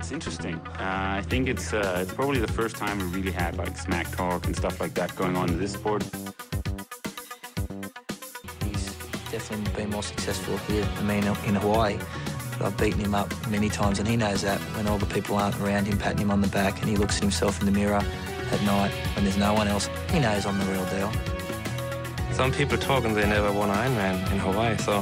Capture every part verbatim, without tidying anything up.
it's interesting. Uh, I think it's uh, it's probably the first time we really had like smack talk and stuff like that going on in this sport. He's definitely been more successful here than me in, in Hawaii. But I've beaten him up many times, and he knows that when all the people aren't around him patting him on the back and he looks at himself in the mirror at night when there's no one else, he knows I'm the real deal. Some people talk and they never won an Ironman in Hawaii, so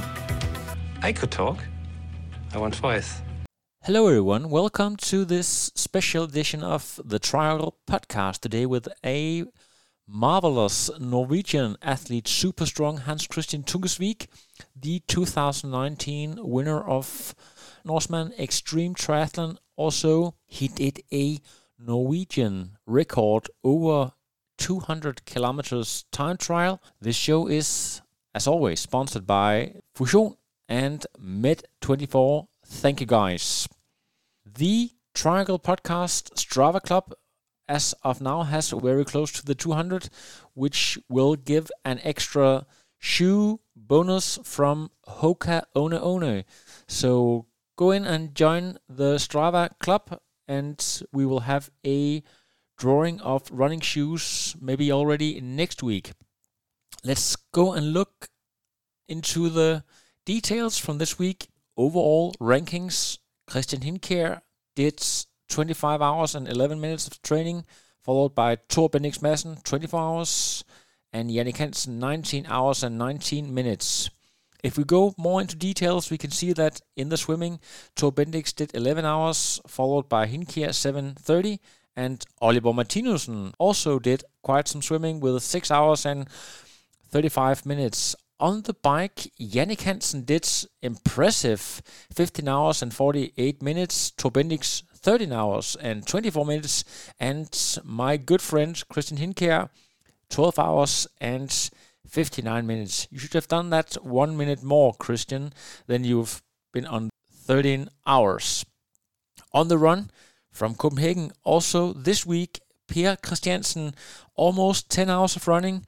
I could talk. I won twice. Hello everyone, welcome to this special edition of the Trial Podcast today with a marvelous Norwegian athlete, super strong Hans Christian Tungesvik, the two thousand nineteen winner of Norseman Extreme Triathlon. Also, he did a Norwegian record over two hundred kilometers time trial. This show is, as always, sponsored by Fusion and Med twenty-four. Thank you guys. The Triangle Podcast Strava Club, as of now, has very close to the two hundred, which will give an extra shoe bonus from Hoka One One. So go in and join the Strava Club, and we will have a drawing of running shoes maybe already next week. Let's go and look into the details from this week. Overall rankings: Christian Hinkjær did twenty-five hours and eleven minutes of training, followed by Thor Bendix Madsen, twenty-four hours, and Jannik Hansen, nineteen hours and nineteen minutes. If we go more into details, we can see that in the swimming, Thor Bendix did eleven hours, followed by Hinkjær, seven thirty, and Oliver Martinussen also did quite some swimming with six hours and thirty-five minutes. On the bike, Jannik Hansen did impressive fifteen hours and forty-eight minutes, Thor Bendix thirteen hours and twenty-four minutes, and my good friend Christian Hinkjær twelve hours and fifty-nine minutes. You should have done that one minute more, Christian, than you've been on thirteen hours. On the run from Copenhagen, also this week, Per Christiansen, almost ten hours of running.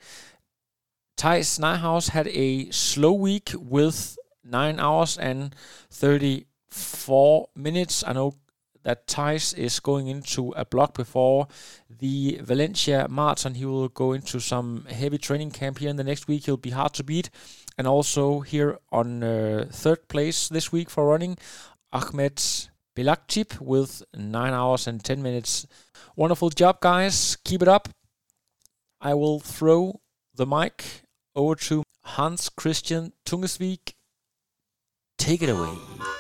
Theis Nyhaus had a slow week with nine hours and thirty-four minutes. I know that Theis is going into a block before the Valencia Marathon. He will go into some heavy training camp here in the next week. He'll be hard to beat. And also here on uh, third place this week for running, Ahmed Belaktip with nine hours and ten minutes. Wonderful job, guys. Keep it up. I will throw the mic over to Hans Christian Tungesvik. Take it away.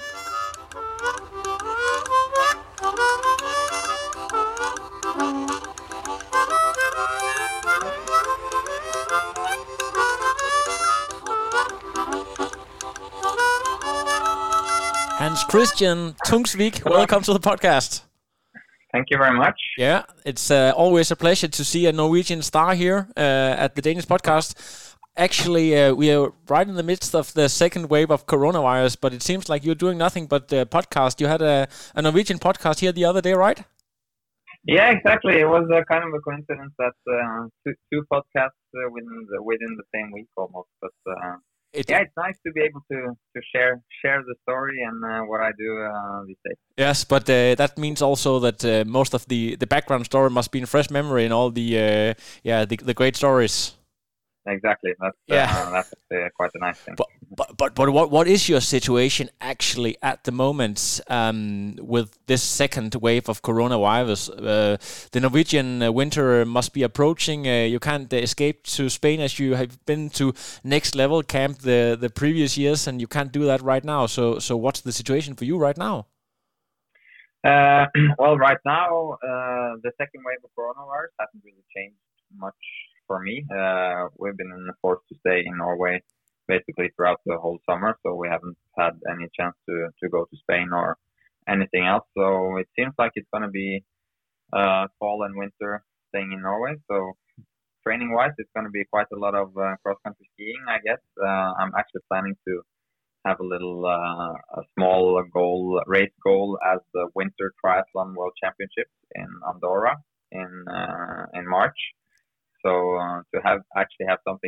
Hans Christian Tungesvik, welcome to the podcast. Thank you very much. Yeah, it's uh, always a pleasure to see a Norwegian star here uh, at the Danish podcast. Actually, uh, we are right in the midst of the second wave of coronavirus, but it seems like you're doing nothing but uh, podcast. You had a, a Norwegian podcast here the other day, right? Yeah, exactly. It was uh, kind of a coincidence that uh, two, two podcasts uh, within the, within the same week almost. But uh, it, yeah, it's nice to be able to, to share share the story and uh, what I do uh, these days. Yes, but uh, that means also that uh, most of the, the background story must be in fresh memory and all the uh, yeah the, the great stories. Exactly. That's yeah. uh, that's uh, quite a nice thing. But but but, but what what is your situation actually at the moment um, with this second wave of coronavirus? Uh, the Norwegian uh, winter must be approaching. Uh, you can't uh, escape to Spain as you have been to Next Level Camp the the previous years, and you can't do that right now. So so what's the situation for you right now? Uh, well, right now uh, the second wave of coronavirus hasn't really changed much for me. Uh, we've been forced to stay in Norway basically throughout the whole summer, so we haven't had any chance to, to go to Spain or anything else. So it seems like it's going to be uh, fall and winter staying in Norway. So training-wise, it's going to be quite a lot of uh, cross-country skiing, I guess. Uh, I'm actually planning to have a little, uh, a small goal, race goal as the Winter Triathlon World Championships in Andorra in uh, in March. So uh, to have actually have something to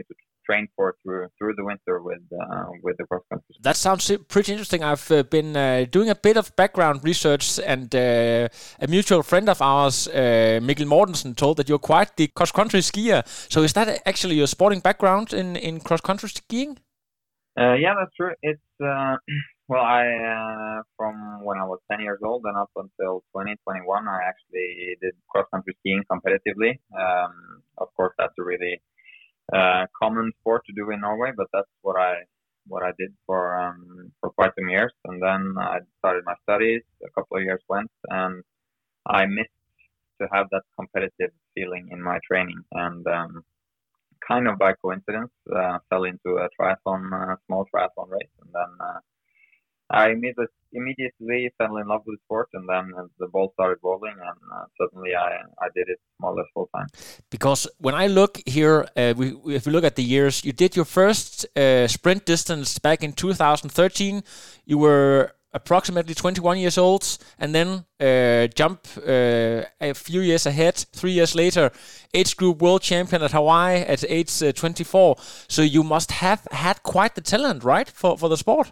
trained for through through the winter with uh, with the cross country. That sounds pretty interesting. I've uh, been uh, doing a bit of background research, and uh, a mutual friend of ours, uh, Mikkel Mortensen, told that you're quite the cross country skier. So is that actually your sporting background in in cross country skiing? Uh, yeah, that's true. It's uh, well, I uh, from when I was ten years old and up until twenty twenty-one, I actually did cross country skiing competitively. Um, of course, that's a really uh, common sport to do in Norway, but that's what I what I did for um, for quite some years. And then I started my studies. A couple of years went, and I missed to have that competitive feeling in my training. And um, kind of by coincidence, uh, fell into a triathlon, uh, small triathlon race, and then uh, I immediately, immediately fell in love with the sport, and then the ball started rolling, and uh, suddenly I, I did it more or less full time. Because when I look here, uh, we, if we look at the years, you did your first uh, sprint distance back in two thousand thirteen. You were approximately twenty-one years old, and then uh, jump uh, a few years ahead, three years later, age group world champion at Hawaii at age uh, twenty-four. So you must have had quite the talent, right, for, for the sport?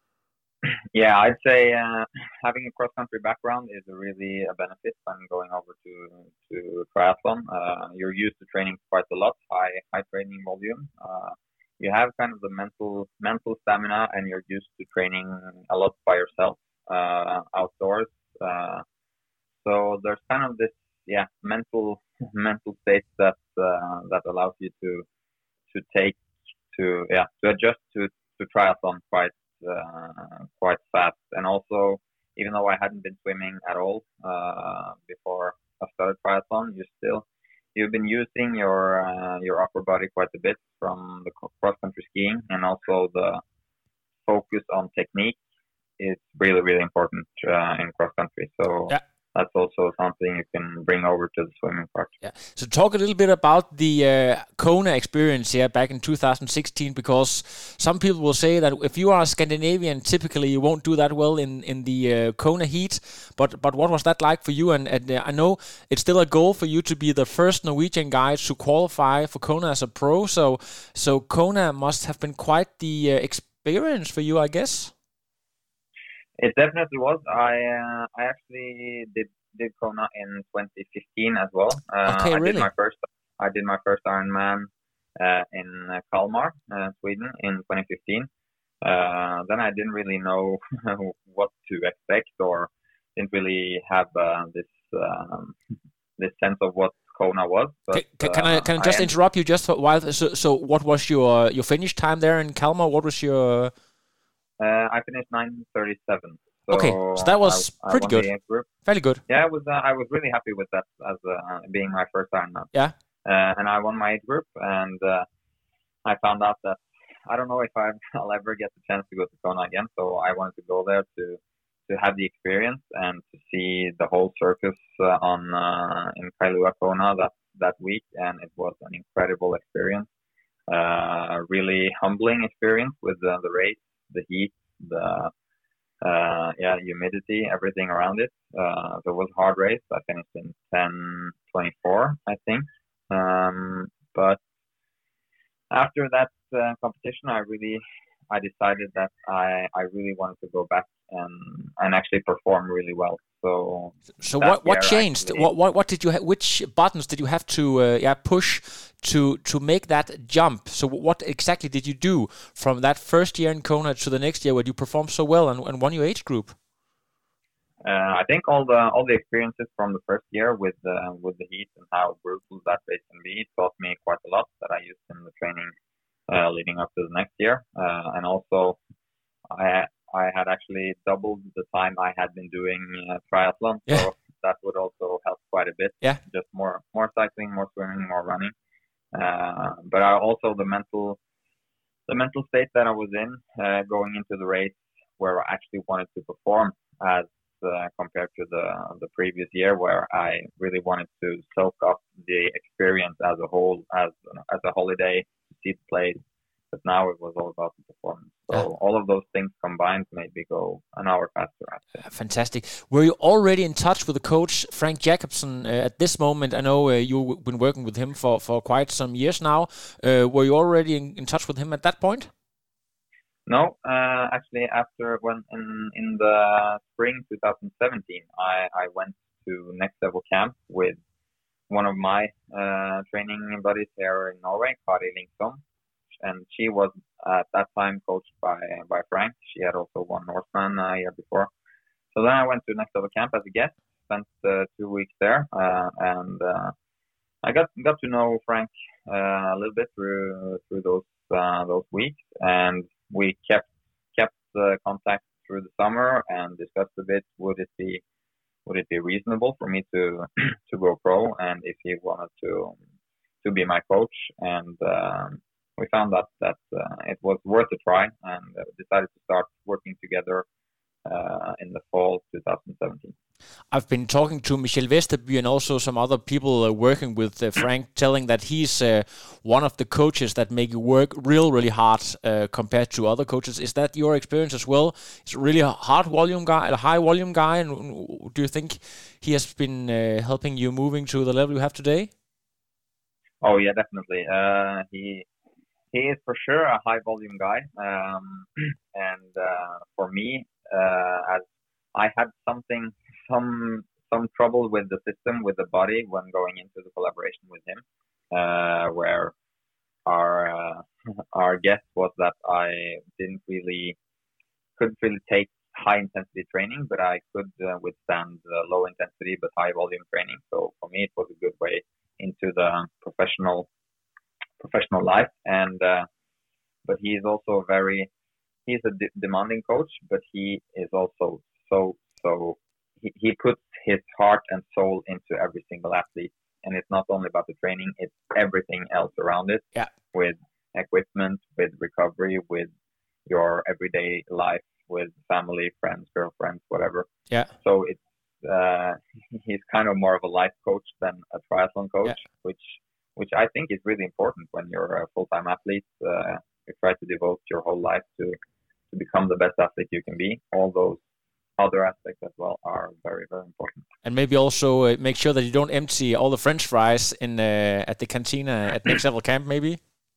Yeah, I'd say uh, having a cross-country background is a really a benefit when going over to to triathlon. Uh, you're used to training quite a lot, high high training volume. Uh, you have kind of the mental mental stamina, and you're used to training a lot by yourself uh, outdoors. Uh, so there's kind of this yeah mental mental state that uh, that allows you to to take to yeah to adjust to to triathlon quite. Uh, quite fast. And also, even though I hadn't been swimming at all uh, before I started triathlon, you still you've been using your uh, your upper body quite a bit from the cross country skiing, and also the focus on technique is really really important uh, in cross country. So. Yeah. That's also something you can bring over to the swimming part. Yeah. So talk a little bit about the uh, Kona experience here back in two thousand sixteen, because some people will say that if you are a Scandinavian, typically you won't do that well in, in the uh, Kona heat. But but what was that like for you? And, and uh, I know it's still a goal for you to be the first Norwegian guy to qualify for Kona as a pro. So, so Kona must have been quite the uh, experience for you, I guess. It definitely was. I uh, I actually did did Kona in twenty fifteen as well. Uh, okay, I really? did my first I did my first Ironman uh, in uh, Kalmar, uh, Sweden, in twenty fifteen. Uh, then I didn't really know what to expect, or didn't really have uh, this um, this sense of what Kona was. But, can, can uh, I can I just I interrupt you just for a while? So so what was your your finish time there in Kalmar? What was your Uh, I finished nine thirty-seven. So okay, so that was I, pretty I good. Fairly good. Yeah, it was. Uh, I was really happy with that as uh, being my first Ironman. Yeah. Uh, and I won my age group, and uh, I found out that I don't know if I've, I'll ever get the chance to go to Kona again. So I wanted to go there to to have the experience and to see the whole circus uh, on uh, in Kailua Kona that that week, and it was an incredible experience. Uh, really humbling experience with uh, the race. The heat, the uh, yeah, humidity, everything around it. Uh, so it was a hard race. I finished in ten twenty-four, I think. Um, but after that uh, competition, I really, I decided that I, I really wanted to go back and and actually perform really well. So, so what what changed? Actually, what what what did you ha- which buttons did you have to uh, yeah push to to make that jump? So what exactly did you do from that first year in Kona to the next year where you performed so well and, and won your age group? Uh, I think all the all the experiences from the first year with uh, with the heat and how brutal that race can be taught me quite a lot that I used in the training uh, leading up to the next year, uh, and also I. I had actually doubled the time I had been doing uh, triathlon, so yeah. that would also help quite a bit. Yeah, just more more cycling, more swimming, more running. Uh, but I also the mental the mental state that I was in uh, going into the race, where I actually wanted to perform as uh, compared to the the previous year, where I really wanted to soak up the experience as a whole, as as a holiday, to see the place, but now it was all about the performance. So Yeah. all of those things combined made me go an hour faster. I'd say. Fantastic. Were you already in touch with the coach, Frank Jacobson, uh, at this moment? I know uh, you've been working with him for, for quite some years now. Uh, were you already in, in touch with him at that point? No, uh, actually, after when in, in the spring twenty seventeen, I, I went to Next Level Camp with one of my uh, training buddies here in Norway, Kari Linksom, and she was at that time coached by by Frank. She had also won Norseman a year before. So then I went to Next Level Camp as a guest, spent uh, two weeks there, uh, and uh, I got got to know Frank uh, a little bit through through those uh, those weeks, and we kept kept uh, contact through the summer and discussed a bit would it be would it be reasonable for me to to go pro, and if he wanted to to be my coach, and um, we found that that uh, it was worth a try, and uh, decided to start working together uh, in the fall twenty seventeen. I've been talking to Michel Vesterby and also some other people uh, working with uh, Frank, telling that he's uh, one of the coaches that make you work real, really hard uh, compared to other coaches. Is that your experience as well? He's really a hard volume guy, a high volume guy, and do you think he has been uh, helping you moving to the level you have today? Oh yeah, definitely. Uh, he he is for sure a high volume guy, um, and uh, for me, uh, as I had something. Some some trouble with the system, with the body when going into the collaboration with him, uh, where our uh, our guess was that I didn't really couldn't really take high intensity training, but I could uh, withstand uh, low intensity but high volume training. So for me, it was a good way into the professional professional life. And uh, but he is also very he's a de- demanding coach, but he is also so so. He, he puts his heart and soul into every single athlete, and it's not only about the training; it's everything else around it. Yeah. With equipment, with recovery, with your everyday life, with family, friends, girlfriends, whatever. Yeah. So it's uh, he's kind of more of a life coach than a triathlon coach, yeah. which which I think is really important when you're a full-time athlete. Uh, you try to devote your whole life to to become the best athlete you can be. All those other aspects as well are very, very important. And maybe also uh, make sure that you don't empty all the French fries in uh, at the cantina at Next Level Camp, maybe?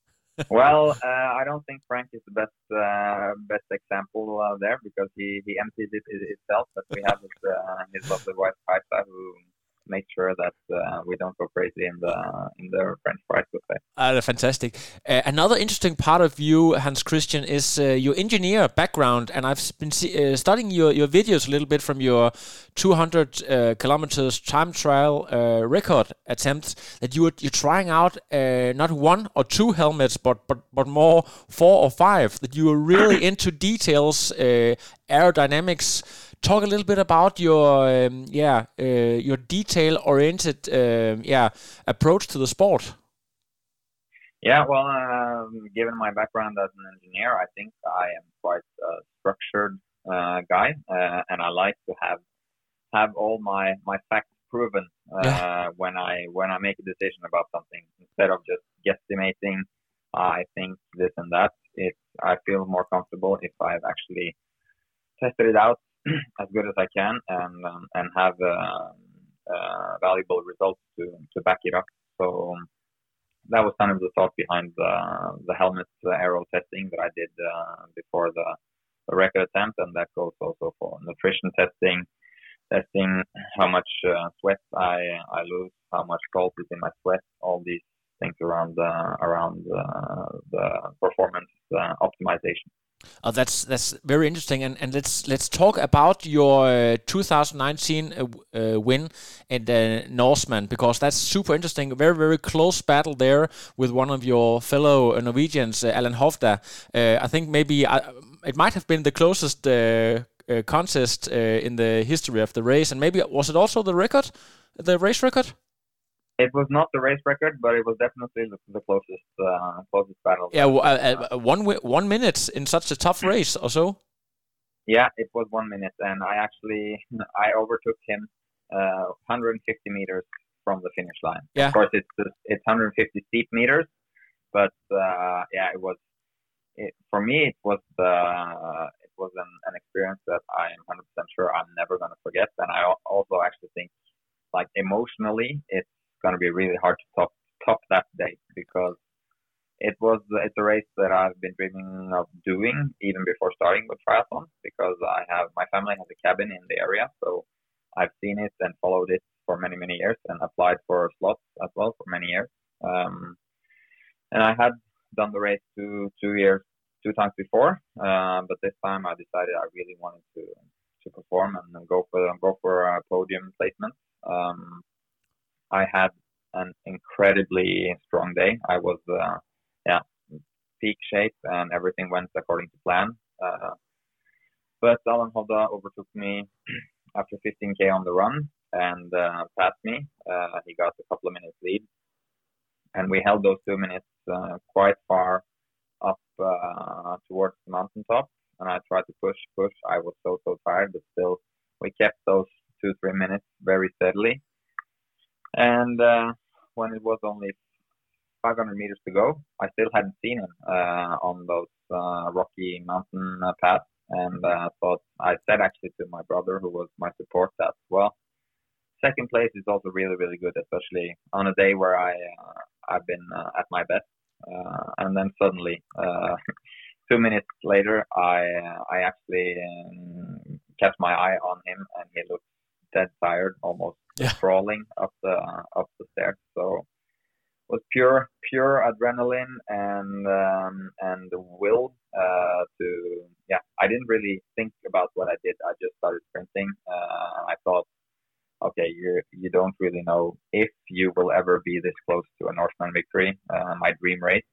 Well, uh, I don't think Frank is the best uh, best example uh, there, because he, he empties it, it itself. But we have his, uh, his lovely wife, Kaisa, who make sure that uh, we don't go crazy in the in the French fries buffet. Uh, fantastic. Uh, another interesting part of you, Hans Christian, is uh, your engineer background, and I've been see- uh, studying your, your videos a little bit from your two hundred uh, kilometers time trial uh, record attempt. That you were you're trying out uh, not one or two helmets, but but but more four or five. That you were really into details, uh, aerodynamics. Talk a little bit about your um, yeah uh, your detail-oriented um, yeah approach to the sport. Yeah, well, um, given my background as an engineer, I think I am quite a structured uh, guy, uh, and I like to have have all my, my facts proven uh, yeah. when I when I make a decision about something, instead of just guesstimating. I think this and that. It I feel more comfortable if I've actually tested it out as good as I can, and um, and have uh, uh, valuable results to, to back it up. So um, that was kind of the thought behind the the helmet uh, aero testing that I did uh, before the, the record attempt, and that goes also for nutrition testing, testing how much uh, sweat I I lose, how much salt is in my sweat, all these things around the around uh, the performance uh, optimization. Oh, that's that's very interesting, and and let's let's talk about your uh, two thousand nineteen uh, uh, win at uh, Norseman, because that's super interesting. A very very close battle there with one of your fellow Norwegians, uh, Alan Hovda. Uh, I think maybe uh, it might have been the closest uh, uh, contest uh, in the history of the race, and maybe was it also the record, the race record? It was not the race record, but it was definitely the, the closest uh, closest battle. Yeah, uh, uh, one one minute in such a tough race, or so. Yeah, it was one minute, and I actually I overtook him uh, one hundred fifty meters from the finish line. Yeah. Of course, it's it's one hundred fifty steep meters, but uh, yeah, it was it, for me, it was uh, it was an, an experience that I'm one hundred percent sure I'm never going to forget. And I also actually think, like emotionally, it's going to be really hard to top top that day, because it was it's a race that I've been dreaming of doing even before starting with triathlon, because I have my family has a cabin in the area, so I've seen it and followed it for many many years and applied for slots as well for many years. Um, and I had done the race two two years two times before, uh, but this time I decided I really wanted to to perform and go for go for a podium placement. Um, I had an incredibly strong day. I was uh, yeah peak shape and everything went according to plan. Uh, but Alan Hovda overtook me after fifteen K on the run and uh, passed me. Uh, he got a couple of minutes lead, and we held those two minutes uh, quite far up uh, towards the mountaintop. And I tried to push, push. I was so, so tired, but still we kept those two, three minutes very steadily. And uh, when it was only five hundred meters to go, I still hadn't seen him uh, on those uh, rocky mountain uh, paths. And uh, thought I said actually to my brother, who was my support, that, well, second place is also really, really good, especially on a day where I, uh, I've been uh, at my best. Uh, and then suddenly, uh, two minutes later, I uh, I actually um, kept my eye on him, and he looked dead tired, almost yeah. crawling up the uh, up the stairs. So it was pure pure adrenaline and um, and will uh, to yeah. I didn't really think about what I did. I just started sprinting. Uh, I thought, okay, you you don't really know if you will ever be this close to a Norseman victory, uh, my dream race.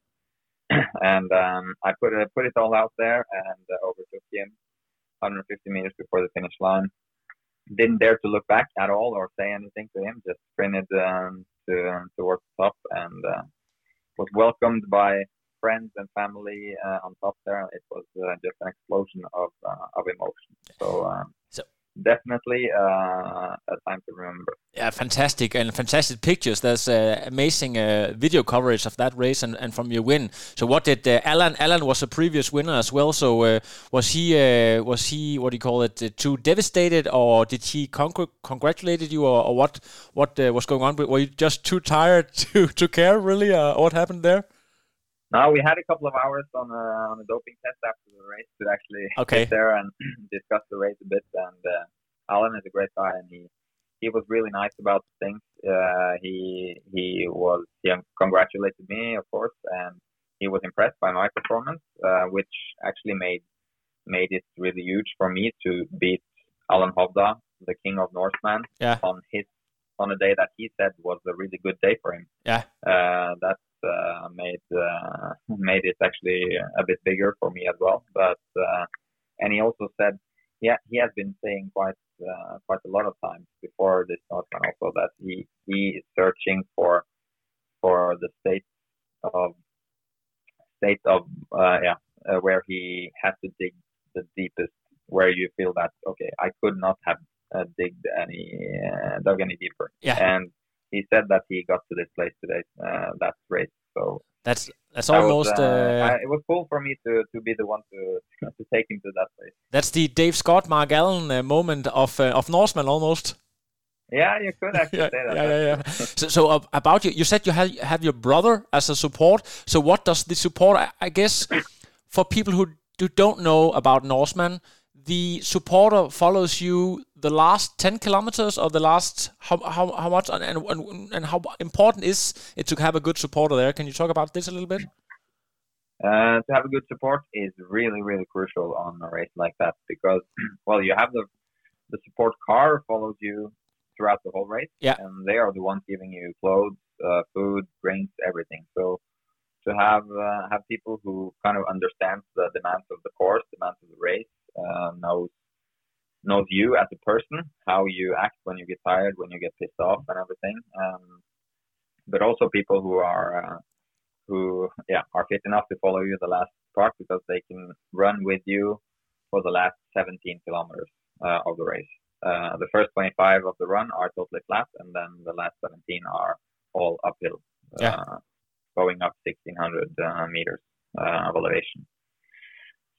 And um, I put it put it all out there and uh, overtook him one hundred fifty meters before the finish line. Didn't dare to look back at all or say anything to him. Just sprinted um, to towards the top and uh, was welcomed by friends and family uh, on top there. It was uh, just an explosion of uh, of emotion. So. Um, so Definitely uh, a time to remember. Yeah, fantastic and fantastic pictures. There's uh, amazing uh, video coverage of that race and, and from your win. So, what did uh, Alan? Alan was a previous winner as well. So, uh, was he uh, was he what do you call it? Uh, too devastated, or did he con- congratulated you, or, or what? What uh, was going on? Were you just too tired to to care really? Uh, what happened there? No, we had a couple of hours on a, on a doping test after the race to actually okay. sit there and discuss the race a bit. And uh, Alan is a great guy, and he, he was really nice about things. Uh, he he was he congratulated me, of course, and he was impressed by my performance, uh, which actually made made it really huge for me to beat Alan Hovda, the King of Norseman, yeah. on his on a day that he said was a really good day for him. Yeah, uh, that. Uh, made uh, made it actually a bit bigger for me as well. But uh, and he also said, yeah, he has been saying quite uh, quite a lot of times before this Norseman also that he he is searching for for the state of state of uh, yeah uh, where he has to dig the deepest, where you feel that okay, I could not have uh, digged any uh, dug any deeper. Yeah. And he said that he got to this place today, uh, that race. So that's that's almost. Was, uh, uh, I, it was cool for me to, to be the one to to take him to that place. That's the Dave Scott, Mark Allen uh, moment of uh, of Norseman almost. Yeah, you could actually yeah, say that. Yeah, yeah, yeah. so, so uh, about you, you said you have have your brother as a support. So what does the support? I, I guess for people who, who don't know about Norseman, the supporter follows you the last ten kilometers or the last how how how much and and, and how important is it to have a good supporter there? Can you talk about this a little bit? Uh, to have a good support is really really crucial on a race like that, because well, you have the the support car follows you throughout the whole race, yeah, and they are the ones giving you clothes, uh, food, drinks, everything. So to have uh, have people who kind of understand the demands of the course, demands of the race. Uh, knows knows you as a person, how you act when you get tired, when you get pissed off, and everything. Um, but also people who are uh, who yeah are fit enough to follow you the last part, because they can run with you for the last seventeen kilometers uh, of the race. Uh, the first twenty-five of the run are totally flat, and then the last seventeen are all uphill, yeah. uh, going up sixteen hundred uh, meters uh, of elevation.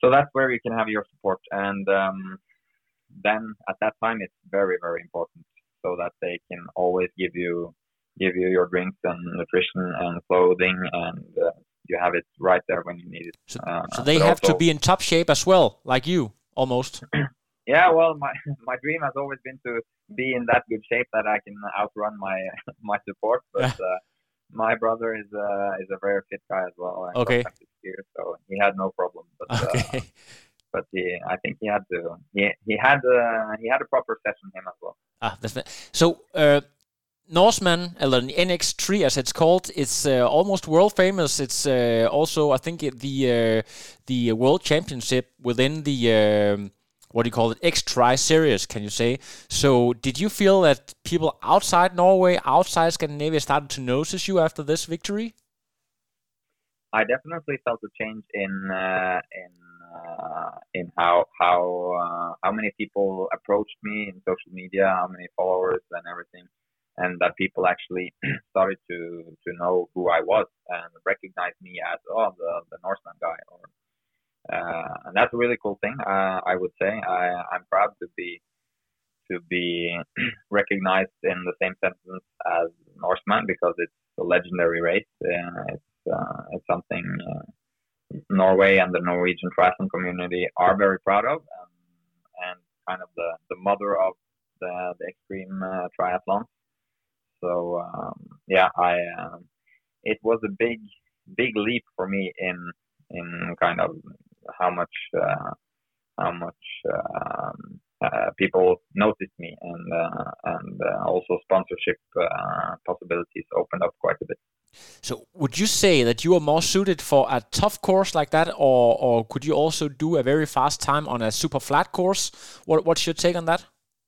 so that's where you can have your support. And um, then at that time, it's very, very important so that they can always give you give you your drinks and nutrition and clothing, and uh, you have it right there when you need it. So, uh, so they have also, to be in top shape as well, like you, almost. Yeah, well, my my dream has always been to be in that good shape that I can outrun my my support. But uh, my brother is uh, is a very fit guy as well. Okay. Skier, so he had no problem. But, okay. Uh, but he, I think he had to. He he had uh, he had a proper session him as well. Ah, that's so. Uh, Norseman, or N X three as it's called, it's uh, almost world famous. It's uh, also, I think, the uh, the world championship within the um, what do you call it, X-Tri series, can you say? So, did you feel that people outside Norway, outside Scandinavia, started to notice you after this victory? I definitely felt a change in uh, in uh, in how how uh, how many people approached me in social media, how many followers and everything. And that people actually started to, to know who I was and recognize me as oh the, the Norseman guy, or uh, and that's a really cool thing. Uh, I would say I, I'm proud to be to be recognized in the same sentence as Norseman because it's a legendary race. Uh, it's uh, it's something uh, Norway and the Norwegian triathlon community are very proud of, um, and kind of the, the mother of the, the extreme uh, triathlon. So um, yeah, I um, it was a big big leap for me in in kind of how much uh, how much um, uh, people noticed me, and uh, and uh, also sponsorship uh, possibilities opened up quite a bit. So would you say that you are more suited for a tough course like that, or or could you also do a very fast time on a super flat course? What what's your take on that?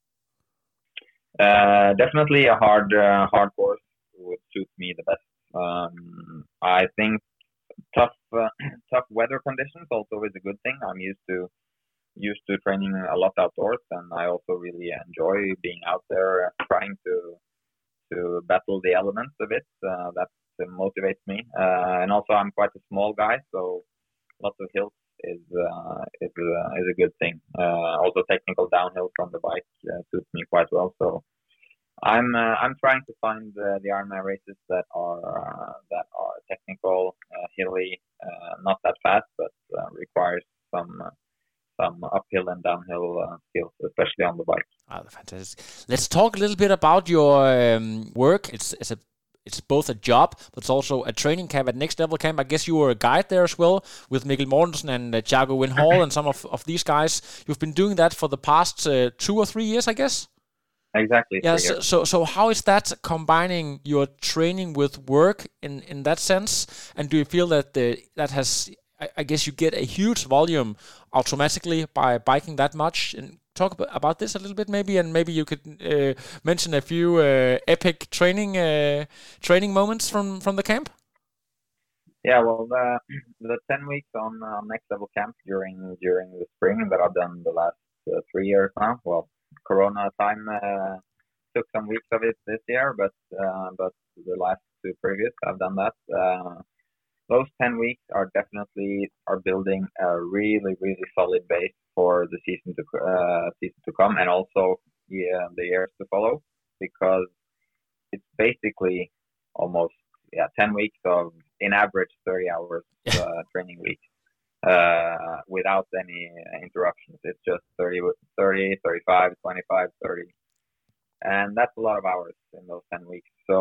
Uh, definitely a hard, uh, hard course would suit me the best. Um, I think tough, uh, tough weather conditions also is a good thing. I'm used to, used to training a lot outdoors, and I also really enjoy being out there, trying to, to battle the elements a bit. Uh, that motivates me. Uh, and also, I'm quite a small guy, so lots of hills is uh, is uh, is a good thing. Uh, also, technical downhill from the bike uh, suits me quite well. So I'm uh, I'm trying to find uh, the Ironman races that are uh, that are technical, uh, hilly, uh, not that fast, but uh, requires some uh, some uphill and downhill uh, skills, especially on the bike. Ah, fantastic. Let's talk a little bit about your um, work. It's it's a It's both a job, but it's also a training camp at Next Level Camp. I guess you were a guide there as well with Mikkel Mortensen and uh, Thiago Win Hall and some of, of these guys. You've been doing that for the past uh, two or three years, I guess? Exactly. Yeah, so, so so how is that combining your training with work in, in that sense? And do you feel that the, that has, I, I guess you get a huge volume automatically by biking that much? And talk about this a little bit maybe, and maybe you could uh, mention a few uh, epic training uh, training moments from, from the camp? Yeah, well, the, the ten weeks on uh, Next Level Camp during during the spring that I've done the last uh, three years now. Well, Corona time uh, took some weeks of it this year, but uh, but the last two previous I've done that. Uh, those ten weeks are definitely are building a really really solid base for the season to uh, season to come, and also yeah, the years to follow, because it's basically almost yeah ten weeks of in average thirty hours uh, training week uh, without any interruptions. It's just thirty, thirty, thirty-five, twenty-five, thirty, and that's a lot of hours in those ten weeks. So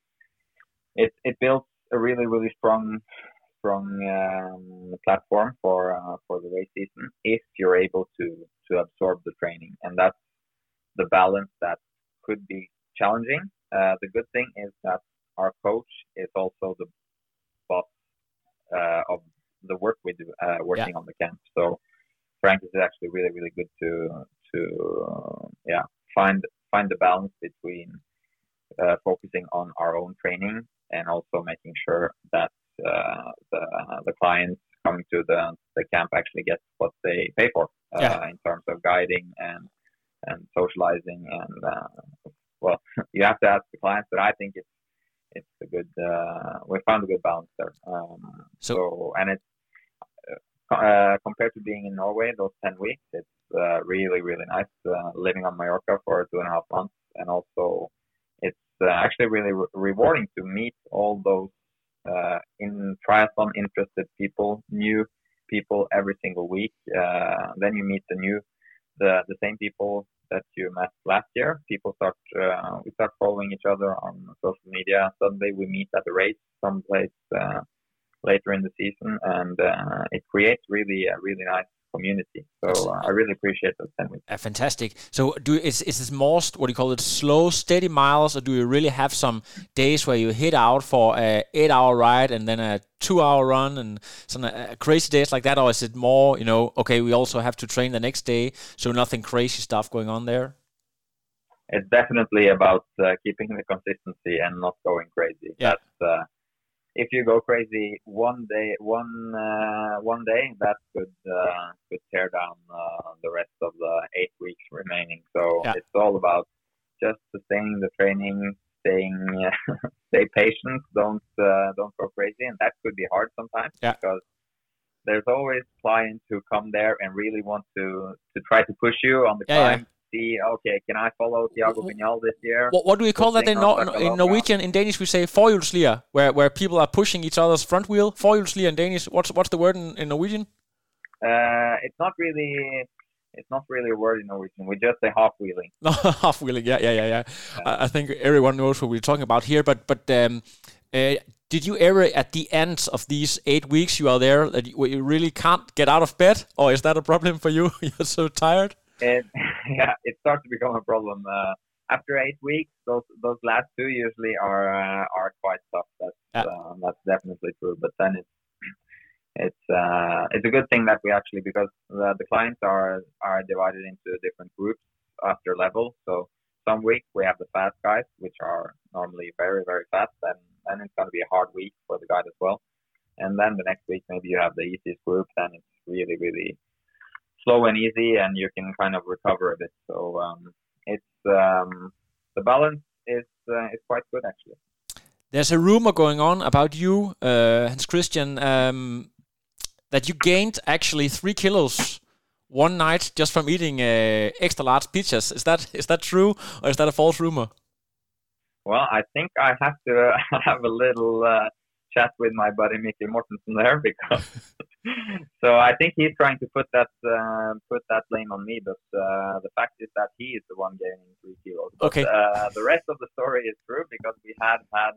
it it builds a really really strong strong um, platform for uh, for the race season if you're able to to absorb the training, and that's the balance that could be challenging. Uh, the good thing is that our coach is also the boss uh, of the work we do uh, working yeah. on the camp. So Frank is actually really really good to to uh, yeah find find the balance between uh, focusing on our own training and also making sure that uh, the the clients coming to the the camp actually get what they pay for uh, yeah. in terms of guiding and and socializing, and uh, well, you have to ask the clients, but I think it's it's a good uh, we found a good balance there. Um, so, so and it's uh, uh, compared to being in Norway those ten weeks, it's uh, really really nice uh, living on Mallorca for two and a half months, and also it's uh, actually really re- rewarding to meet all those uh, in triathlon interested people, new people every single week. Uh, then you meet the new the the same people that you met last year. People start uh, we start following each other on social media. Suddenly we meet at the race someplace uh, later in the season, and uh, it creates really a really nice community. So uh, I really appreciate those ten weeks. Uh, fantastic. So do is is this more st- what do you call it, slow, steady miles, or do you really have some days where you hit out for a eight hour ride and then a two hour run and some uh, crazy days like that, or is it more, you know, okay, we also have to train the next day, so nothing crazy stuff going on there? It's definitely about uh, keeping the consistency and not going crazy. Yeah. That's uh, if you go crazy one day, one uh, one day, that could uh, could tear down uh, the rest of the eight weeks remaining. So Yeah. it's all about just sustaining the training, staying, stay patient, don't uh, don't go crazy, and that could be hard sometimes Yeah. because there's always clients who come there and really want to to try to push you on the Yeah, yeah. climb. See, okay, can I follow Thiago Vignal this year? What, what do we call that in, Nor- Pushing in on Norwegian? In Danish we say forhjulslier, where where people are pushing each other's front wheel. Forhjulslier in Danish. What's what's the word in, in Norwegian? Uh, it's not really, it's not really a word in Norwegian. We just say half wheeling. No, half wheeling. Yeah, yeah, yeah, yeah. I, I think everyone knows what we're talking about here. But but um, uh, did you ever, at the end of these eight weeks you are there, that you, you really can't get out of bed, or is that a problem for you? You're so tired. It, yeah, it starts to become a problem. Uh, after eight weeks, those those last two usually are uh, are quite tough. That's Yeah. uh, that's definitely true. But then it's it's uh, it's a good thing that we actually, because the, the clients are are divided into different groups after level. So some weeks we have the fast guys, which are normally very very fast, and then it's going to be a hard week for the guide as well. And then the next week maybe you have the easiest group, then it's really really slow and easy, and you can kind of recover a bit. So um, it's um, the balance is uh, is quite good actually. There's a rumor going on about you, uh, Hans Christian, um, that you gained actually three kilos one night just from eating uh, extra large pizzas. Is that is that true, or is that a false rumor? Well, I think I have to have a little uh, chat with my buddy Mikkel Mortensen there, because so I think he's trying to put that uh, put that blame on me, but uh, the fact is that he is the one gaining three kilos. But, Okay. Uh, the rest of the story is true, because we had had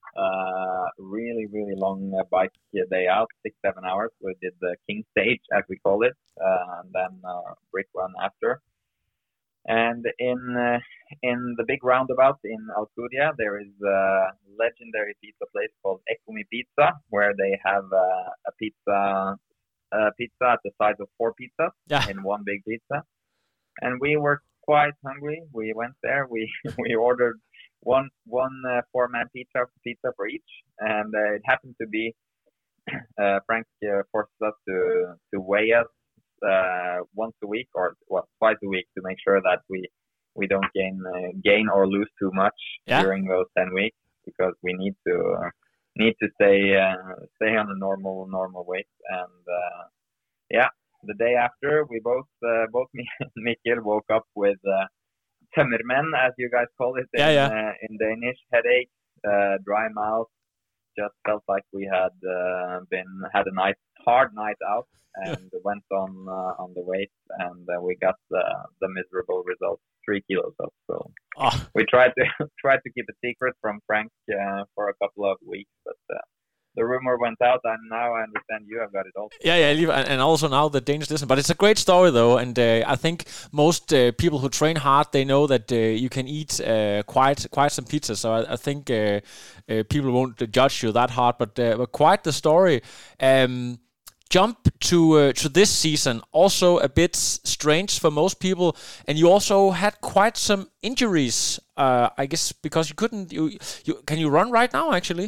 uh, really really long uh, bike day out, six seven hours. We did the King Stage, as we call it, uh, and then uh, brick run after. And in uh, in the big roundabout in Alcudia, there is a legendary pizza place called Eccomi Pizza, where they have uh, a pizza a pizza at the size of four pizzas Yeah. in one big pizza. And we were quite hungry. We went there. We we ordered one one uh, four man pizza pizza for each, and uh, it happened to be uh, Frank uh, forced us to to weigh us uh, once a week, or well twice a week, to make sure that we we don't gain uh, gain or lose too much Yeah. during those ten weeks, because we need to uh, need to stay uh, stay on a normal normal weight. And uh, yeah, the day after, we both uh, both me and Mikkel woke up with uh, tømmermenn, as you guys call it in, Yeah, yeah. Uh, in Danish, headache, uh, dry mouth. Just felt like we had uh, been had a nice hard night out, and went on uh, on the weight, and uh, we got the the miserable result, three kilos up. So Oh, we tried to tried to keep a secret from Frank uh, for a couple of weeks, but uh, the rumor went out, and now I understand you have got it also. yeah, yeah, leave- and and also now the Danish listen. But it's a great story though, and uh, I think most uh, people who train hard, they know that uh, you can eat uh, quite quite some pizza. So I, I think uh, uh, people won't judge you that hard. But, uh, but quite the story. Um, jump to uh, to this season, also a bit strange for most people, and you also had quite some injuries. Uh, I guess because you couldn't. You, you can you run right now? Actually.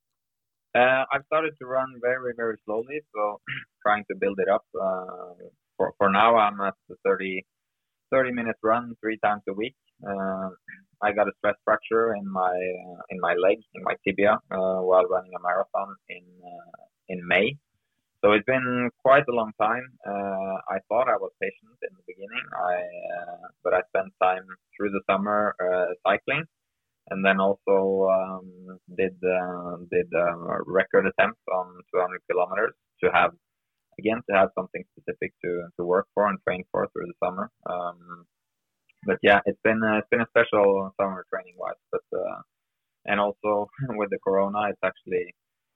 Uh, I've started to run very, very slowly, so trying to build it up. Uh, for for now, I'm at the thirty, thirty minute run three times a week. Uh, I got a stress fracture in my uh, in my leg, in my tibia, uh, while running a marathon in uh, in May. So so it's been quite a long time. Uh, I thought I was patient in the beginning, I uh, but I spent time through the summer uh, cycling, and then also um, did uh, did a record attempt on two hundred kilometers to have again to have something specific to to work for and train for through the summer. Um, but yeah, it's been uh, it's been a special summer training wise, but uh, and also with the corona, it's actually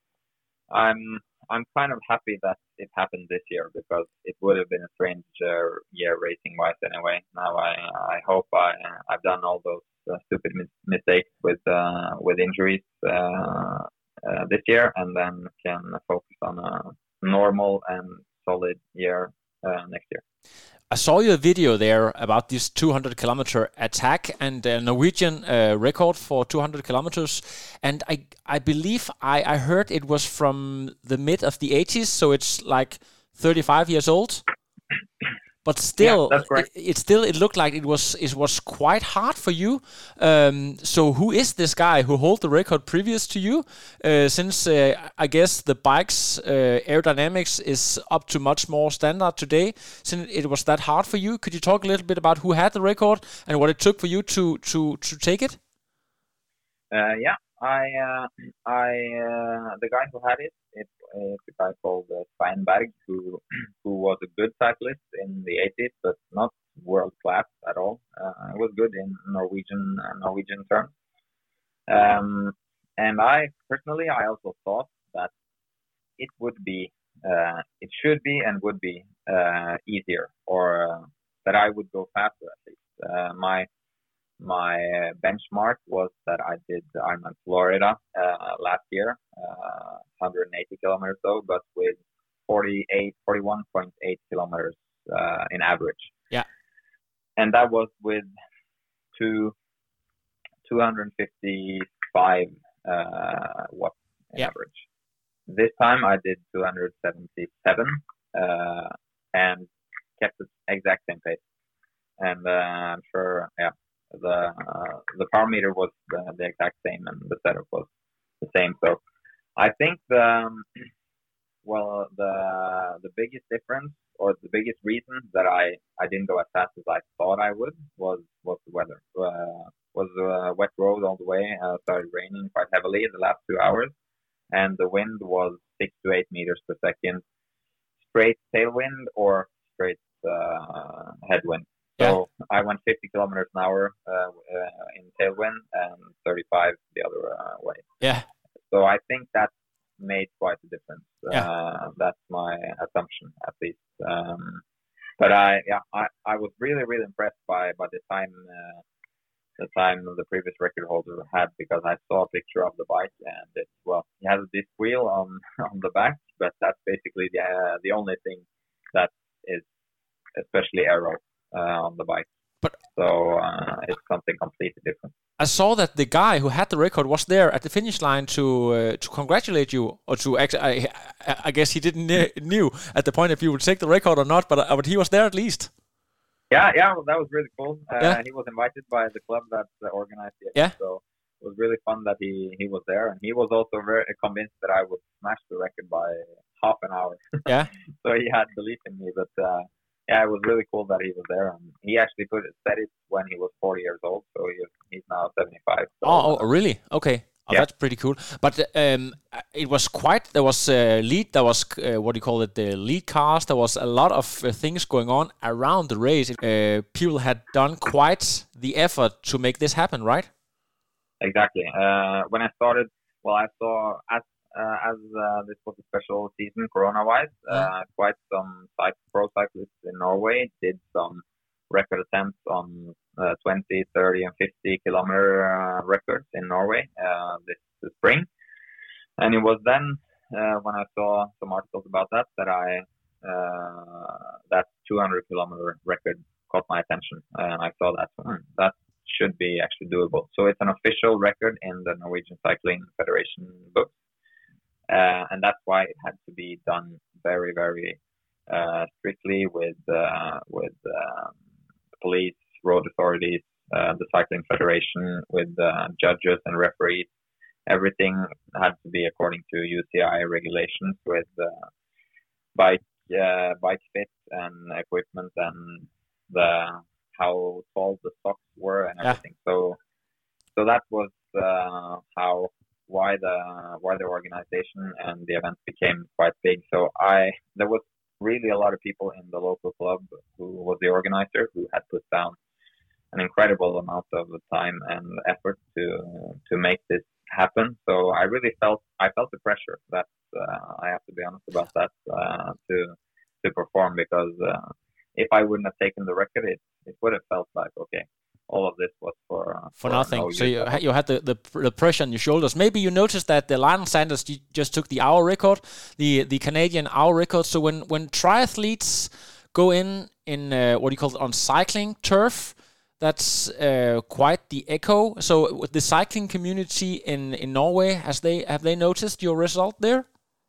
I'm I'm kind of happy that it happened this year, because it would have been a strange uh, year racing wise anyway. Now I I hope I I've done all those uh, stupid mis- mistakes with uh, with injuries uh, uh, this year, and then can focus on a normal and solid year uh, next year. I saw your video there about this two hundred kilometer attack and uh, Norwegian uh, record for two hundred kilometers, and I I believe I, I heard it was from the mid of the eighties, so it's like thirty-five years old. But still, yeah, that's correct. it, it still it looked like it was it was quite hard for you. Um, so who is this guy who hold the record previous to you? Uh, since uh, I guess the bike's uh, aerodynamics is up to much more standard today, since it was that hard for you, could you talk a little bit about who had the record and what it took for you to to to take it? Uh, yeah, I uh, I uh, the guy who had it, it it's a guy called uh, Steinberg, who who was a good cyclist in the eighties, but not world class at all. Uh, it was good in Norwegian uh, Norwegian terms. Um, and I personally, I also thought that it would be, uh, it should be, and would be uh, easier, or uh, that I would go faster at least. Uh, my My benchmark was that I did Ironman Florida uh, last year, uh, one hundred eighty kilometers though, but with forty-eight, forty-one point eight kilometers uh, in average. Yeah. And that was with two, two hundred fifty-five uh, watts in yeah. average. This time I did two hundred seventy-seven uh, and kept the exact same pace. And uh, I'm sure, yeah. The uh, the power meter was the, the exact same, and the setup was the same. So I think the um, well the the biggest difference, or the biggest reason that I, I didn't go as fast as I thought I would was was the weather. Uh, was a wet road all the way. Uh, started raining quite heavily in the last two hours, and the wind was six to eight meters per second, straight tailwind or straight uh, headwind. So yeah. I went fifty kilometers an hour uh, uh, in tailwind and thirty-five the other uh, way. Yeah. So I think that made quite a difference. Yeah. Uh, that's my assumption, at least. Um, but I, yeah, I, I was really, really impressed by by the time uh, the time the previous record holder had, because I saw a picture of the bike, and it's well, he has a disc wheel on on the back, but that's basically the uh, the only thing that is especially aero. Uh, on the bike, but so uh, it's something completely different. I saw that the guy who had the record was there at the finish line to uh, to congratulate you, or to actually, I, I guess he didn't knew at the point if you would take the record or not, but uh, but he was there at least. Yeah, yeah, well, that was really cool. Uh, yeah. He was invited by the club that uh, organized it. Yeah. So it was really fun that he he was there, and he was also very convinced that I would smash the record by half an hour. Yeah. So he had belief in me, but. Uh, Yeah, it was really cool that he was there. And he actually put it, said it when he was forty years old, so he, he's now seventy-five. So, oh, oh, really? Okay. Oh, yeah. That's pretty cool. But um, it was quite. There was uh, lead. There was uh, what do you call it? The lead cars. There was a lot of uh, things going on around the race. Uh, people had done quite the effort to make this happen, right? Exactly. Uh, when I started, well, I saw as Uh, as uh, this was a special season corona-wise, uh, quite some cycle, pro cyclists in Norway did some record attempts on uh, twenty, thirty, and fifty kilometer uh, records in Norway uh, this, this spring. And it was then uh, when I saw some articles about that that I uh, that two hundred kilometer record caught my attention, and I saw that hmm, that should be actually doable. So it's an official record in the Norwegian Cycling Federation book. Uh, and that's why it had to be done very, very uh, strictly with uh, with um, the police, road authorities, uh, the cycling federation, with uh, judges and referees. Everything had to be according to U C I regulations, with uh, bike uh, bike fit and equipment and the how tall the socks were and everything. Yeah. So so that was uh, how why the why the organization and the event became quite big. So I there was really a lot of people in the local club who was the organizer who had put down an incredible amount of time and effort to to make this happen. So I really felt I felt the pressure. That uh, I have to be honest about that uh, to to perform, because uh, if I wouldn't have taken the record, it it would have felt like, okay, all of this was for uh, for, for nothing. No so you ha- you had the, the the pressure on your shoulders. Maybe you noticed that the Lionel Sanders just took the hour record, the the Canadian hour record. So when when triathletes go in in uh, what do you call it, on cycling turf, that's uh, quite the echo. So with the cycling community in, in Norway, has they have they noticed your result there?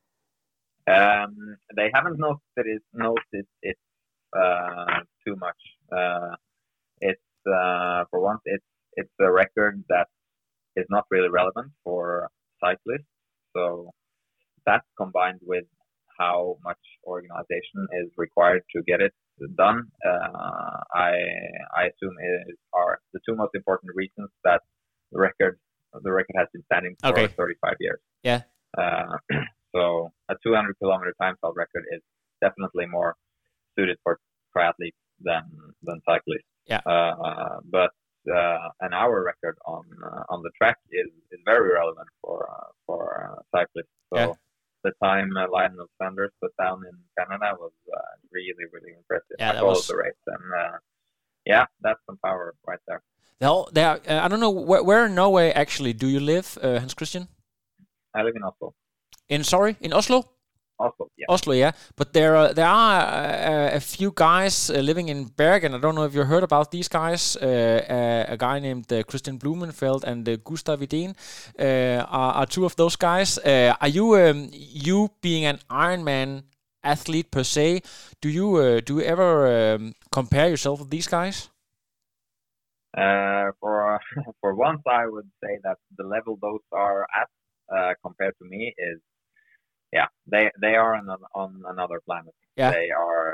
Um, they haven't noticed it noticed it uh, too much. Uh, it's uh, for once, it's it's a record that is not really relevant for cyclists. So that, combined with how much organization is required to get it done, uh, I I assume is are the two most important reasons that the record the record has been standing for okay. thirty-five years. Yeah. Uh, so a two hundred kilometer time trial record is definitely more suited for triathletes than than cyclists. Yeah. Uh, but uh, an hour record on uh, on the track is, is very relevant for uh, for uh, cyclists. So. Yeah. The time uh, Lionel Sanders put down in Canada was uh, really, really impressive. Yeah, that was the race, and uh, yeah, that's some power right there. There, there. Uh, I don't know where, where in Norway actually do you live, uh, Hans Christian? I live in Oslo. In sorry, in Oslo. Oslo, yeah. Oslo, yeah. But there, uh, there are uh, a few guys uh, living in Bergen. I don't know if you heard about these guys. Uh, uh, a guy named uh, Christian Blumenfeld and uh, Gustav Idén uh, are, are two of those guys. Uh, are you, um, you being an Ironman athlete per se, do you uh, do you ever um, compare yourself with these guys? Uh, for for once, I would say that the level those are at uh, compared to me is. Yeah, they they are on on another planet. Yeah. They are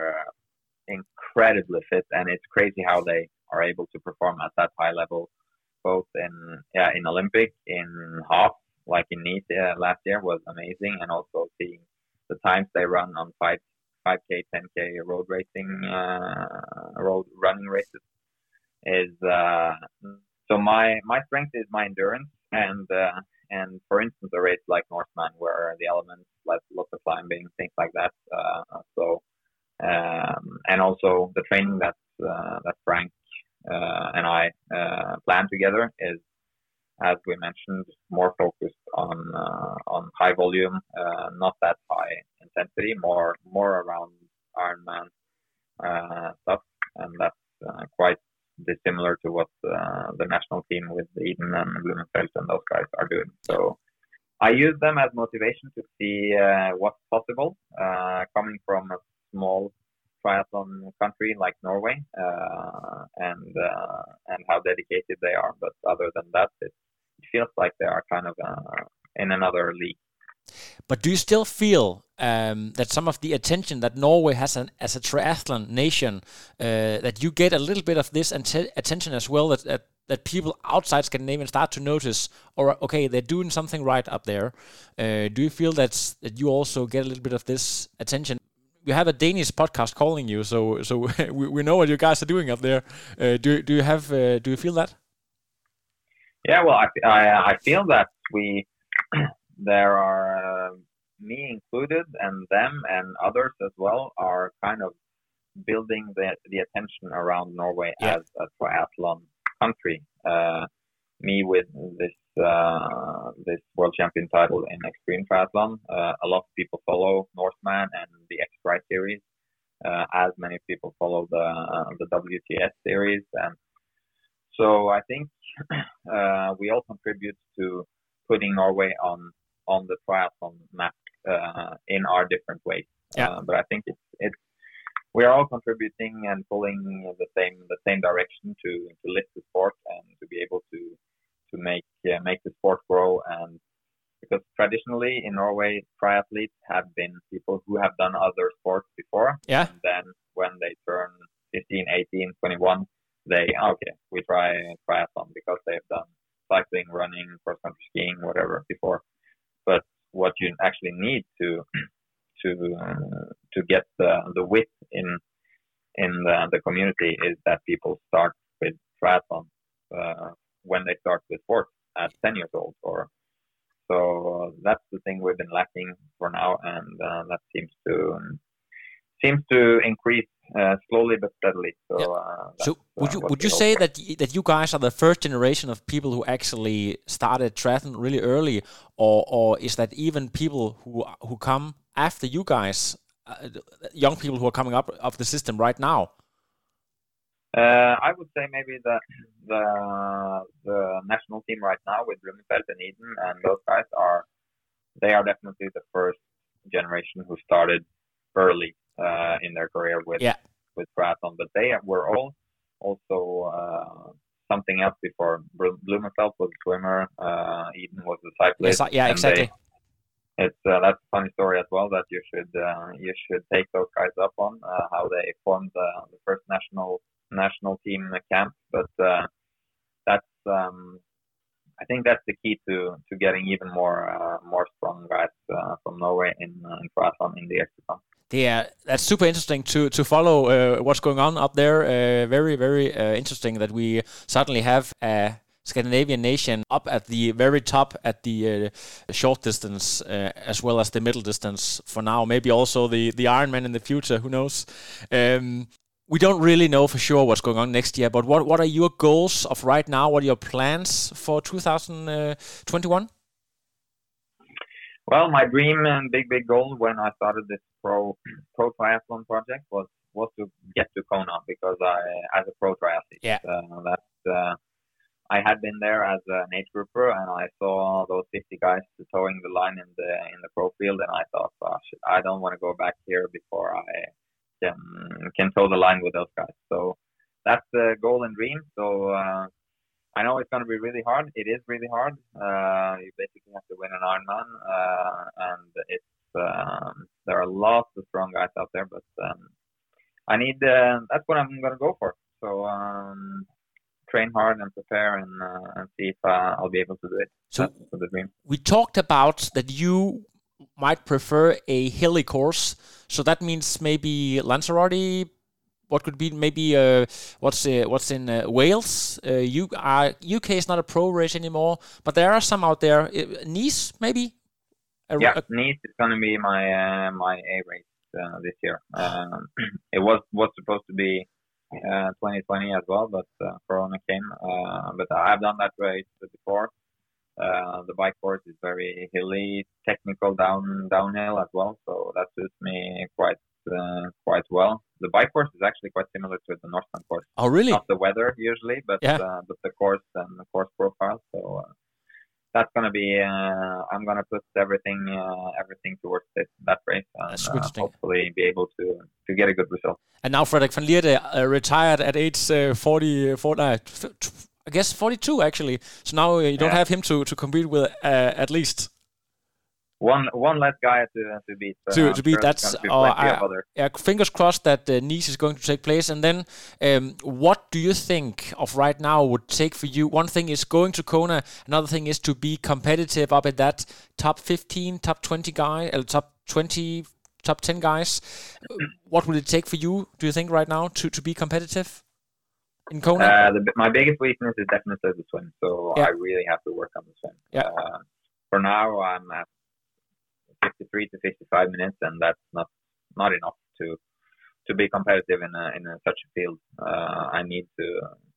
incredibly fit, and it's crazy how they are able to perform at that high level, both in yeah in Olympic, in half, like in Nice uh, last year was amazing, and also seeing the times they run on five five k, ten k road racing, uh, road running races is. Uh, so my my strength is my endurance, and. Uh, And for instance, a race like Norseman, where the elements, like lots of climbing, things like that. Uh, so, um, and also the training that uh, that Frank uh, and I uh, plan together is, as we mentioned, more focused on uh, on high volume, uh, not that high intensity, more more around Ironman uh, stuff, and that's uh, quite dissimilar to what uh, the national team with Eden and Blumenfeld and those guys are doing. So I use them as motivation to see uh, what's possible uh, coming from a small triathlon country like Norway, uh, and uh, and how dedicated they are. But other than that, it, it feels like they are kind of uh, in another league. But do you still feel um, that some of the attention that Norway has an, as a triathlon nation, uh, that you get a little bit of this ante- attention as well, that, that that people outside Scandinavia start to notice, or okay, they're doing something right up there? Uh, do you feel that that you also get a little bit of this attention? We have a Danish podcast calling you, so so we, we know what you guys are doing up there. Uh, do do you have uh, do you feel that? Yeah, well, I I, I feel that we. There are uh, me included, and them and others as well are kind of building the the attention around Norway yeah. as a triathlon country. Uh, me with this uh, this world champion title in extreme triathlon. Uh, a lot of people follow Norseman and the X-Ride series, uh, as many people follow the uh, the W T S series, and so I think uh, we all contribute to putting Norway on. on the triathlon map uh, in our different ways. Yeah. Uh, but I think it's it's we are all contributing and pulling the same the same direction to, to lift the sport and to be able to to make uh, make the sport grow and because traditionally in Norway, triathletes have been people who have done other sports before. Yeah. And then when they turn fifteen, eighteen, twenty-one, they, okay, we try triathlon because they've done cycling, running, cross-country skiing, whatever before. But what you actually need to to uh, to get the the width in in the, the community is that people start with triathlon uh, when they start with sports at ten years old. Or so that's the thing we've been lacking for now, and uh, that seems to um, seems to increase uh, slowly but steadily. So, yeah. uh, so would you would you say for. that y- that you guys are the first generation of people who actually started triathlon really early, or or is that even people who who come after you guys, uh, young people who are coming up of the system right now? Uh, I would say maybe the the the national team right now with Blumenfeld and Eden and those guys are they are definitely the first generation who started early uh, in their career with yeah. with triathlon, but they were all also uh, something else before. Blumenfeld was a swimmer, uh, Eden was a cyclist. Yes, yeah, exactly. They, it's uh, that's a funny story as well that you should uh, you should take those guys up on uh, how they formed the, the first national national team camp. But uh, that's um, I think that's the key to, to getting even more uh, more strong guys uh, from Norway in, uh, in triathlon in the years to come. Yeah, that's super interesting to to follow uh, what's going on up there. Uh, very, very uh, interesting that we suddenly have a Scandinavian nation up at the very top at the uh, short distance uh, as well as the middle distance for now. Maybe also the, the Ironman in the future, who knows? Um, we don't really know for sure what's going on next year, but what, what are your goals of right now? What are your plans for two thousand twenty-one? Well, my dream and big, big goal when I started this pro pro triathlon project was was to get to Kona because I, as a pro triathlete, yeah. uh, that uh, I had been there as an age grouper, and I saw those fifty guys towing the line in the in the pro field, and I thought, gosh, I don't want to go back here before I can can tow the line with those guys. So that's the goal and dream. So. Uh, I know it's going to be really hard. It is really hard. Uh, you basically have to win an Ironman, uh, and it's um, there are lots of strong guys out there. But um, I need uh, that's what I'm going to go for. So um, train hard and prepare, and, uh, and see if uh, I'll be able to do it. So that's the dream. We talked about that you might prefer a hilly course. So that means maybe Lanzarote. What could be maybe uh, what's uh, what's in uh, Wales? Uh, you are U K is not a pro race anymore, but there are some out there. Uh, Nice, maybe. A, yeah, a, Nice is going to be my uh, my A race uh, this year. Um, it was was supposed to be uh, twenty twenty as well, but uh, Corona came. Uh, but I've done that race before. Uh, the bike course is very hilly, technical down downhill as well, so that suits me quite uh, quite well. The bike course is actually quite similar to the Northland course. Oh, really? Not the weather usually, but yeah. uh, but the course and the course profile. So uh, that's gonna be. Uh, I'm gonna put everything uh, everything towards this, that race, and uh, hopefully be able to to get a good result. And now Frederik van Lierde uh, retired at age uh, forty, forty uh, I guess forty-two actually. So now uh, you don't yeah. have him to to compete with uh, at least. One one less guy to to beat. Uh, to to beat. Sure that's uh, I, yeah. Fingers crossed that uh, Nice is going to take place. And then, um, what do you think of right now would take for you? One thing is going to Kona. Another thing is to be competitive up at that top fifteen, top twenty guy, uh, top twenty, top ten guys. What would it take for you? Do you think right now to to be competitive in Kona? Uh, the, my biggest weakness is definitely the swim. So yeah. I really have to work on the swim. Yeah. Uh, for now, I'm at fifty-three to fifty-five minutes, and that's not not enough to to be competitive in a, in a, such a field. Uh, I need to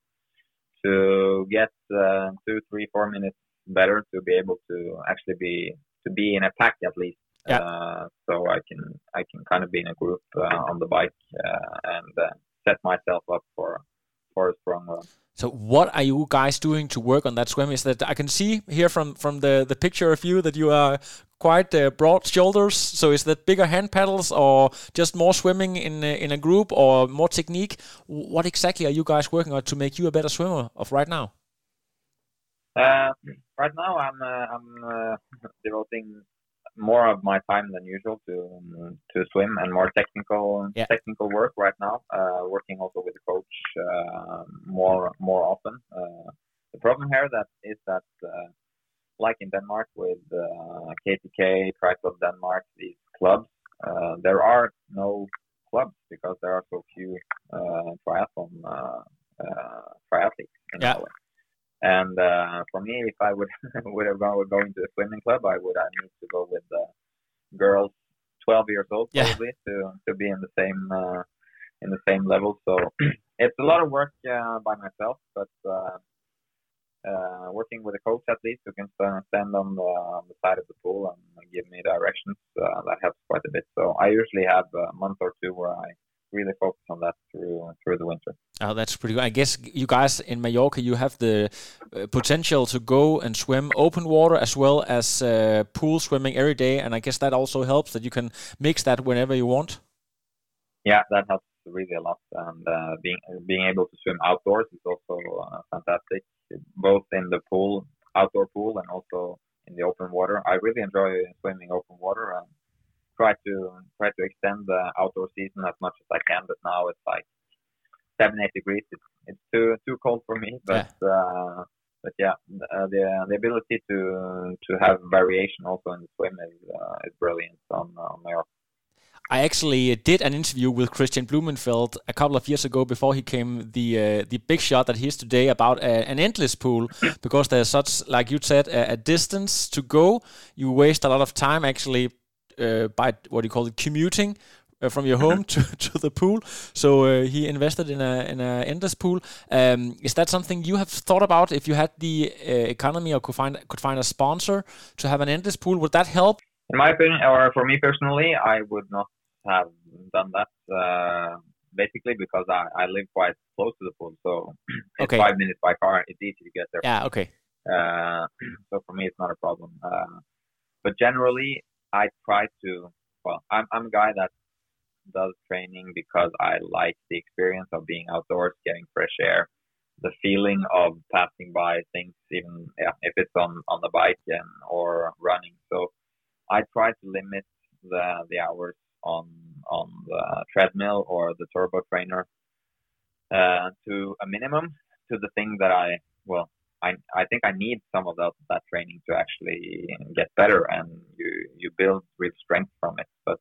to get uh, two, three, four minutes better to be able to actually be to be in a pack at least. Yeah. Uh, so I can I can kind of be in a group uh, on the bike uh, and uh, set myself up for for a strong run. So what are you guys doing to work on that swim? Is that I can see here from from the the picture of you that you are quite uh, broad shoulders. So is that bigger hand paddles or just more swimming in a, in a group or more technique? What exactly are you guys working on to make you a better swimmer of right now? Uh, right now, I'm uh, I'm uh, devoting more of my time than usual to um, to swim and more technical yeah. technical work right now. Uh, working also with the coach uh, more more often. Uh, the problem here that is that uh, like in Denmark with uh, K T K, Triathlon Denmark, these clubs, uh, there are no clubs because there are so few uh, triathlon uh, uh, triathletes in yeah. Norway. And uh, for me, if I would would have gone go into a swimming club, I would I need to go with uh, girls twelve years old probably yeah. to to be in the same uh, in the same level. So it's a lot of work uh, by myself, but uh, uh, working with a coach at least who can stand on the, on the side of the pool and give me directions, uh, that helps quite a bit. So I usually have a month or two where I really focus on that through through the winter. Oh, that's pretty good. I guess you guys in Mallorca, you have the uh, potential to go and swim open water as well as uh, pool swimming every day, and I guess that also helps that you can mix that whenever you want. Yeah, that helps really a lot, and uh, being being able to swim outdoors is also uh, fantastic, both in the pool, outdoor pool, and also in the open water. I really enjoy swimming open water and try to try to extend the outdoor season as much as I can, but now it's like seven, eight degrees. It's, it's too too cold for me, but yeah. Uh, but yeah, uh, the the ability to to have variation also in the swim is uh, is brilliant on uh, Mallorca. I actually did an interview with Christian Blumenfeld a couple of years ago before he came the uh, the big shot that he is today about a, an endless pool because there's such, like you said, a, a distance to go. You waste a lot of time actually uh, by what do you call it, commuting uh, from your home to, to the pool. So uh, he invested in a in a endless pool. Um, is that something you have thought about? If you had the uh, economy or could find could find a sponsor to have an endless pool, would that help? In my opinion, or for me personally, I would not have done that. Uh, basically, because I, I live quite close to the pool, so it's okay. five minutes by car. It's easy to get there. Yeah. Okay. Uh, so for me, it's not a problem. Uh, but generally, I try to. Well, I'm I'm a guy that does training because I like the experience of being outdoors, getting fresh air, the feeling of passing by things, even yeah, if it's on, on the bike and or running. So I try to limit the the hours on on the treadmill or the turbo trainer uh, to a minimum, to the thing that I well I I think I need some of that that training to actually get better, and you you build real strength from it. But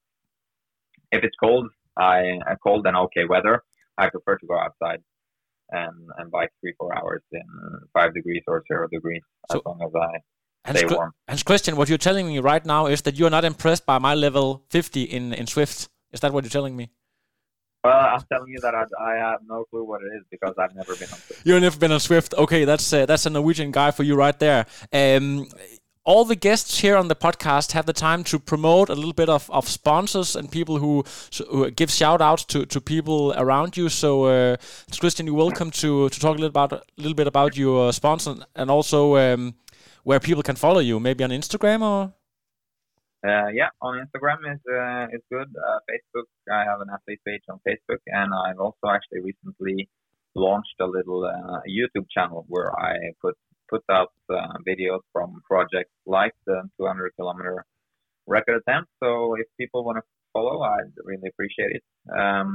if it's cold, I uh, cold and okay weather, I prefer to go outside and and bike three four hours in five degrees or zero degrees, so, as long as I stay Hans, warm. Hans Christian, what you're telling me right now is that you're not impressed by my level fifty in in Swift. Is that what you're telling me? Well, I'm telling you that I, I have no clue what it is because I've never been on Swift. You've never been on Swift. Okay, that's uh, that's a Norwegian guy for you right there. Um, all the guests here on the podcast have the time to promote a little bit of, of sponsors and people who, who give shout outs to, to people around you. So, uh, Christian, you're welcome to, to talk a little about a little bit about your sponsor and also um, where people can follow you. Maybe on Instagram or. Uh, yeah, on Instagram is uh, is good. Uh, Facebook, I have an athlete page on Facebook, and I've also actually recently launched a little uh, YouTube channel where I put put out uh, videos from projects like the two hundred kilometer record attempt. So if people want to follow, I'd really appreciate it. Um,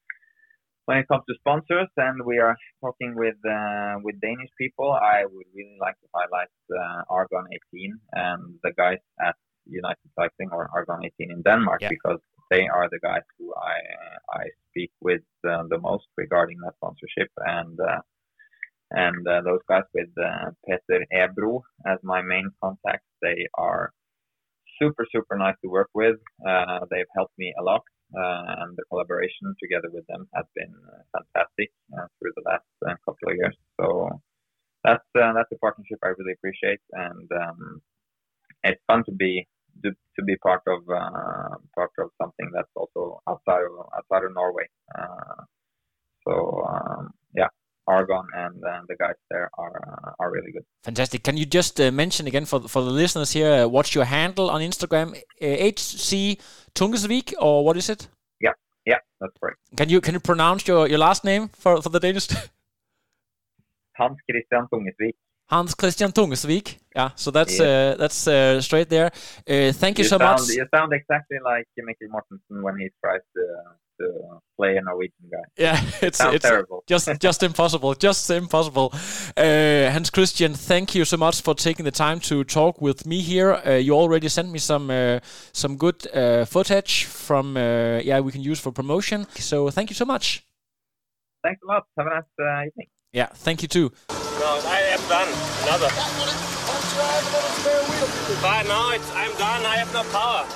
when it comes to sponsors, and we are talking with uh, with Danish people, I would really like to highlight uh, Argon eighteen and the guys at United Cycling or Argon eighteen in Denmark, yeah. because they are the guys who I I speak with uh, the most regarding that sponsorship, and uh, and uh, those guys with uh, Peter Ebro as my main contact, they are super super nice to work with. Uh, they've helped me a lot, uh, and the collaboration together with them has been uh, fantastic uh, through the last uh, couple of years. So that's uh, that's a partnership I really appreciate, and um, it's fun to be to, to be part of uh, part of something that's also outside of outside of Norway. Uh, so um, yeah, Argon and uh, the guys there are uh, are really good. Fantastic. Can you just uh, mention again for for the listeners here, uh, what's your handle on Instagram? Uh, H C Tungesvik, or what is it? Yeah, yeah, that's right. Can you can you pronounce your, your last name for, for the Danish? Hans Christian Tungesvik. Hans Christian Tungesvik. Yeah, so that's Yeah. uh, that's uh, straight there. Uh, thank you, You so sound, much. You sound exactly like Mikkel Mortensen when he tries to to play a Norwegian guy. Yeah, it's Sounds it's terrible. just just impossible, just impossible. Uh, Hans Christian, thank you so much for taking the time to talk with me here. Uh, you already sent me some uh, some good uh, footage from uh, yeah we can use for promotion. So thank you so much. Thanks a lot. Have a nice uh, evening. Yeah, thank you too. No, I am done. Another. But no, it's, I'm done. I have no power.